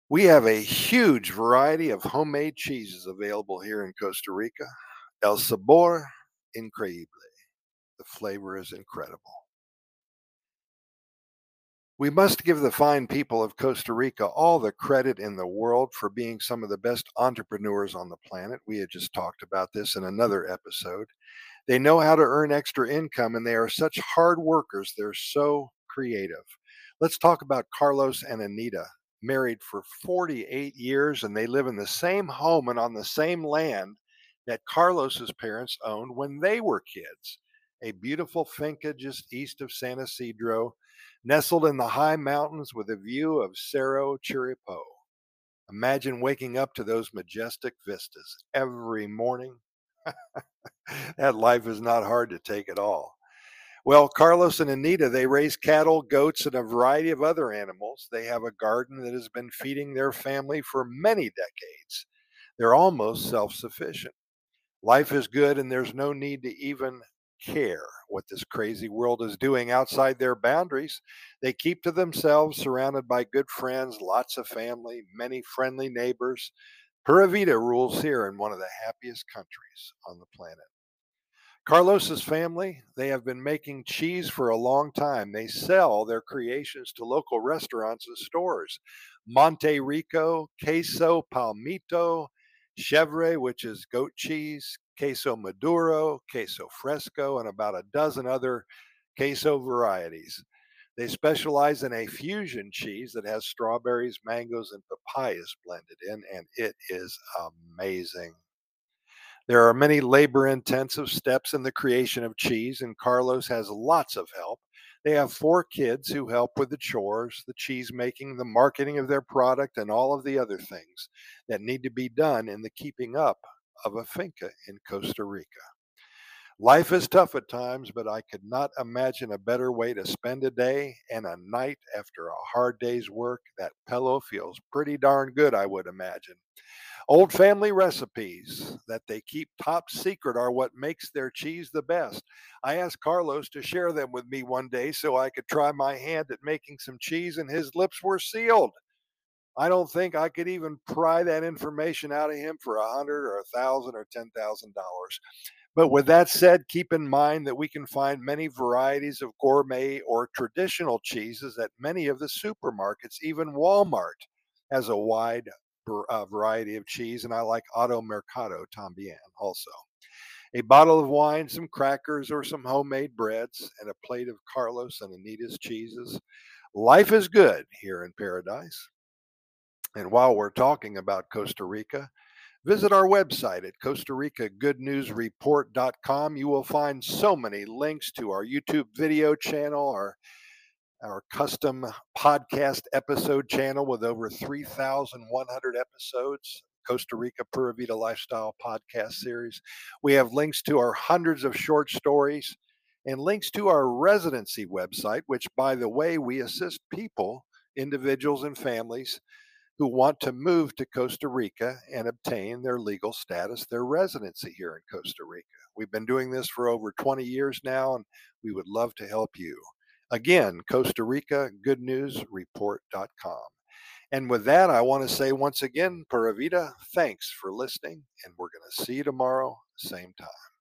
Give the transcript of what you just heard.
We have a huge variety of homemade cheeses available here in Costa Rica. El sabor increíble. The flavor is incredible. We must give the fine people of Costa Rica all the credit in the world for being some of the best entrepreneurs on the planet. We had just talked about this in another episode. They know how to earn extra income and they are such hard workers. They're so creative. Let's talk about Carlos and Anita, married for 48 years, and they live in the same home and on the same land that Carlos's parents owned when they were kids. A beautiful finca just east of San Isidro, nestled in the high mountains with a view of Cerro Chiripo. Imagine waking up to those majestic vistas every morning. That life is not hard to take at all. Well, Carlos and Anita, they raise cattle, goats, and a variety of other animals. They have a garden that has been feeding their family for many decades. They're almost self sufficient. Life is good, and there's no need to even care what this crazy world is doing outside their boundaries. They keep to themselves, surrounded by good friends, lots of family, many friendly neighbors. Pura Vida rules here in one of the happiest countries on the planet. Carlos's family, they have been making cheese for a long time. They sell their creations to local restaurants and stores. Monte Rico, Queso Palmito, Chevre, which is goat cheese, Queso Maduro, Queso Fresco, and about a dozen other queso varieties. They specialize in a fusion cheese that has strawberries, mangoes, and papayas blended in, and it is amazing. There are many labor intensive steps in the creation of cheese, and Carlos has lots of help. They have four kids who help with the chores, the cheese making, the marketing of their product, and all of the other things that need to be done in the keeping up of a finca in Costa Rica. Life is tough at times, but I could not imagine a better way to spend a day and a night after a hard day's work. That pillow feels pretty darn good, I would imagine. Old family recipes that they keep top secret are what makes their cheese the best. I asked Carlos to share them with me one day so I could try my hand at making some cheese, and his lips were sealed. I don't think I could even pry that information out of him for 100 or 1,000 or $10,000. But with that said, keep in mind that we can find many varieties of gourmet or traditional cheeses at many of the supermarkets. Even Walmart has a wide variety of cheese, and I like Auto Mercado también also. A bottle of wine, some crackers, or some homemade breads, and a plate of Carlos and Anita's cheeses. Life is good here in paradise. And while we're talking about Costa Rica, visit our website at Costa Rica Good News Report.com. You will find so many links to our YouTube video channel, our custom podcast episode channel with over 3,100 episodes, Costa Rica Pura Vida Lifestyle podcast series. We have links to our hundreds of short stories and links to our residency website, which, by the way, we assist people, individuals, and families who want to move to Costa Rica and obtain their legal status, their residency here in Costa Rica. We've been doing this for over 20 years now, and we would love to help you. Again, Costa Rica Good News Report.com. And with that, I want to say once again, Pura Vida, thanks for listening, and we're going to see you tomorrow, same time.